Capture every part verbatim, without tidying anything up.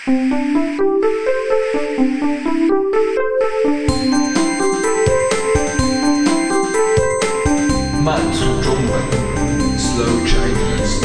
慢速中文 Slow Chinese。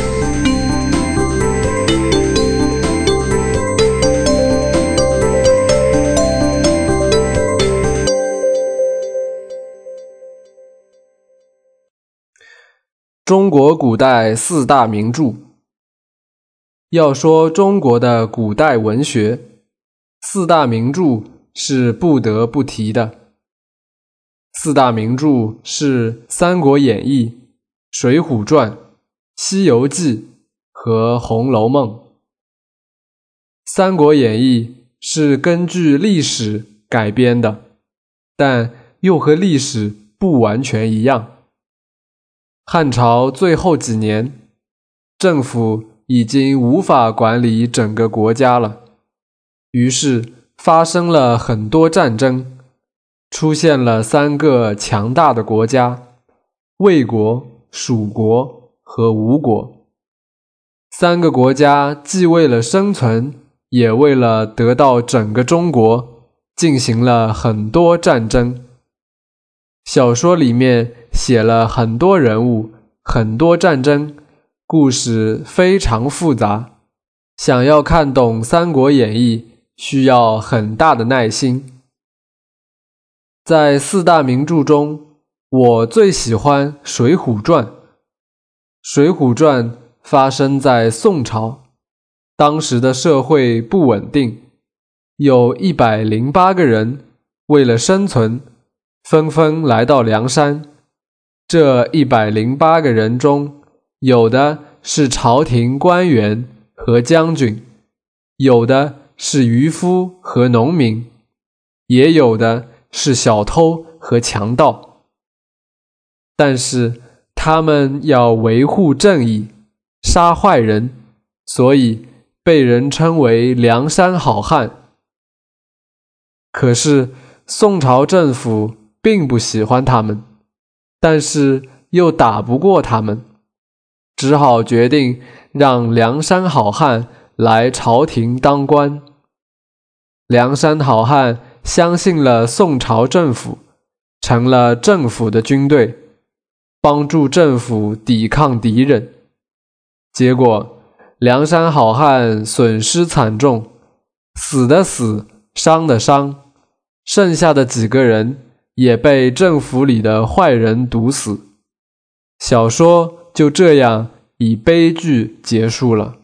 中国古代四大名著。要说中国的古代文学，四大名著是不得不提的。四大名著是《三国演义》、《水浒传》、《西游记》和《红楼梦》。《三国演义》是根据历史改编的，但又和历史不完全一样。汉朝最后几年，政府已经无法管理整个国家了，于是发生了很多战争，出现了三个强大的国家：魏国、蜀国和吴国。三个国家既为了生存，也为了得到整个中国，进行了很多战争。小说里面写了很多人物，很多战争，故事非常复杂。想要看懂《三国演义》，需要很大的耐心。在四大名著中，我最喜欢《水浒传》。《水浒传》发生在宋朝，当时的社会不稳定，有一百零八个人为了生存，纷纷来到梁山。这一百零八个人中，有的是朝廷官员和将军，有的是渔夫和农民，也有的是小偷和强盗。但是他们要维护正义，杀坏人，所以被人称为梁山好汉。可是宋朝政府并不喜欢他们，但是又打不过他们，只好决定让梁山好汉来朝廷当官。梁山好汉相信了宋朝政府，成了政府的军队，帮助政府抵抗敌人。结果梁山好汉损失惨重，死的死，伤的伤，剩下的几个人也被政府里的坏人毒死。小说就这样以悲剧结束了。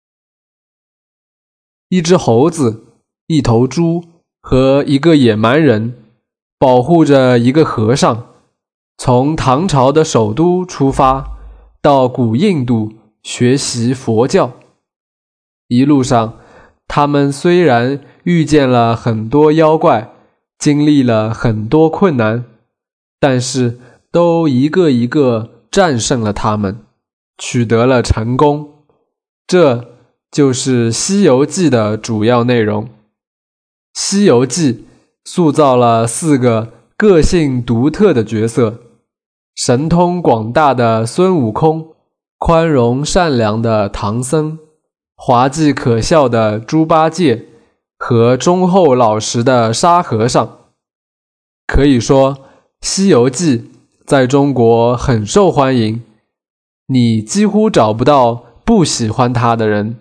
一只猴子、一头猪和一个野蛮人保护着一个和尚，从唐朝的首都出发，到古印度学习佛教。一路上，他们虽然遇见了很多妖怪，经历了很多困难，但是都一个一个战胜了他们，取得了成功。这就是《西游记》的主要内容。《西游记》塑造了四个个性独特的角色：神通广大的孙悟空，宽容善良的唐僧，滑稽可笑的猪八戒和忠厚老实的沙和尚。可以说，《西游记》在中国很受欢迎，你几乎找不到不喜欢它的人。《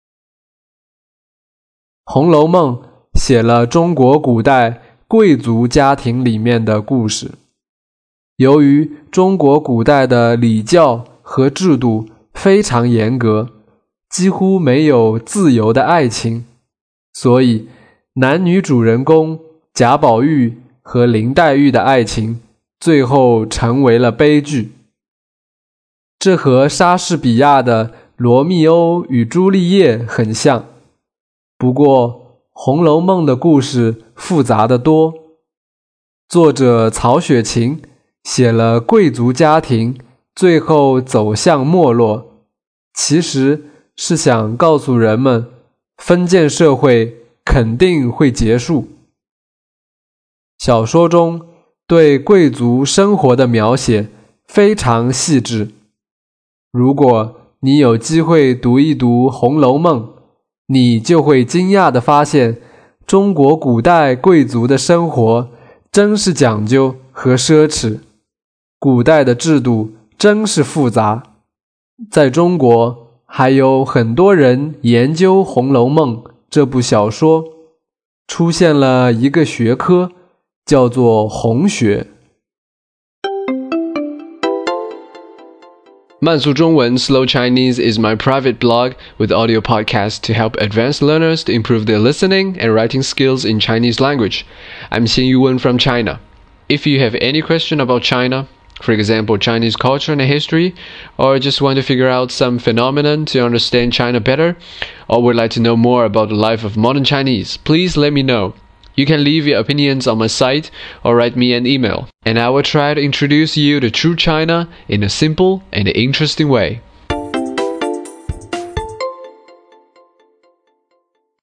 红楼梦》写了中国古代贵族家庭里面的故事。由于中国古代的礼教和制度非常严格，几乎没有自由的爱情，所以男女主人公贾宝玉和林黛玉的爱情最后成为了悲剧。这和莎士比亚的《罗密欧与朱丽叶》很像，不过《红楼梦》的故事复杂得多。作者曹雪芹写了贵族家庭最后走向没落，其实是想告诉人们，封建社会肯定会结束。小说中对贵族生活的描写非常细致。如果你有机会读一读《红楼梦》， 你就会惊讶地发现，中国古代贵族的生活真是讲究和奢侈，古代的制度真是复杂。在中国，还有很多人研究《红楼梦》这部小说，出现了一个学科，叫做红学。 慢速中文 Slow Chinese is my private blog with audio podcasts to help advanced learners to improve their listening and writing skills in Chinese language. I'm Xin Yuwen from China. If you have any question about China, for example, Chinese culture and history, or just want to figure out some phenomenon to understand China better, or would like to know more about the life of modern Chinese, please let me know. You can leave your opinions on my site or write me an email, and I will try to introduce you to true China in a simple and interesting way.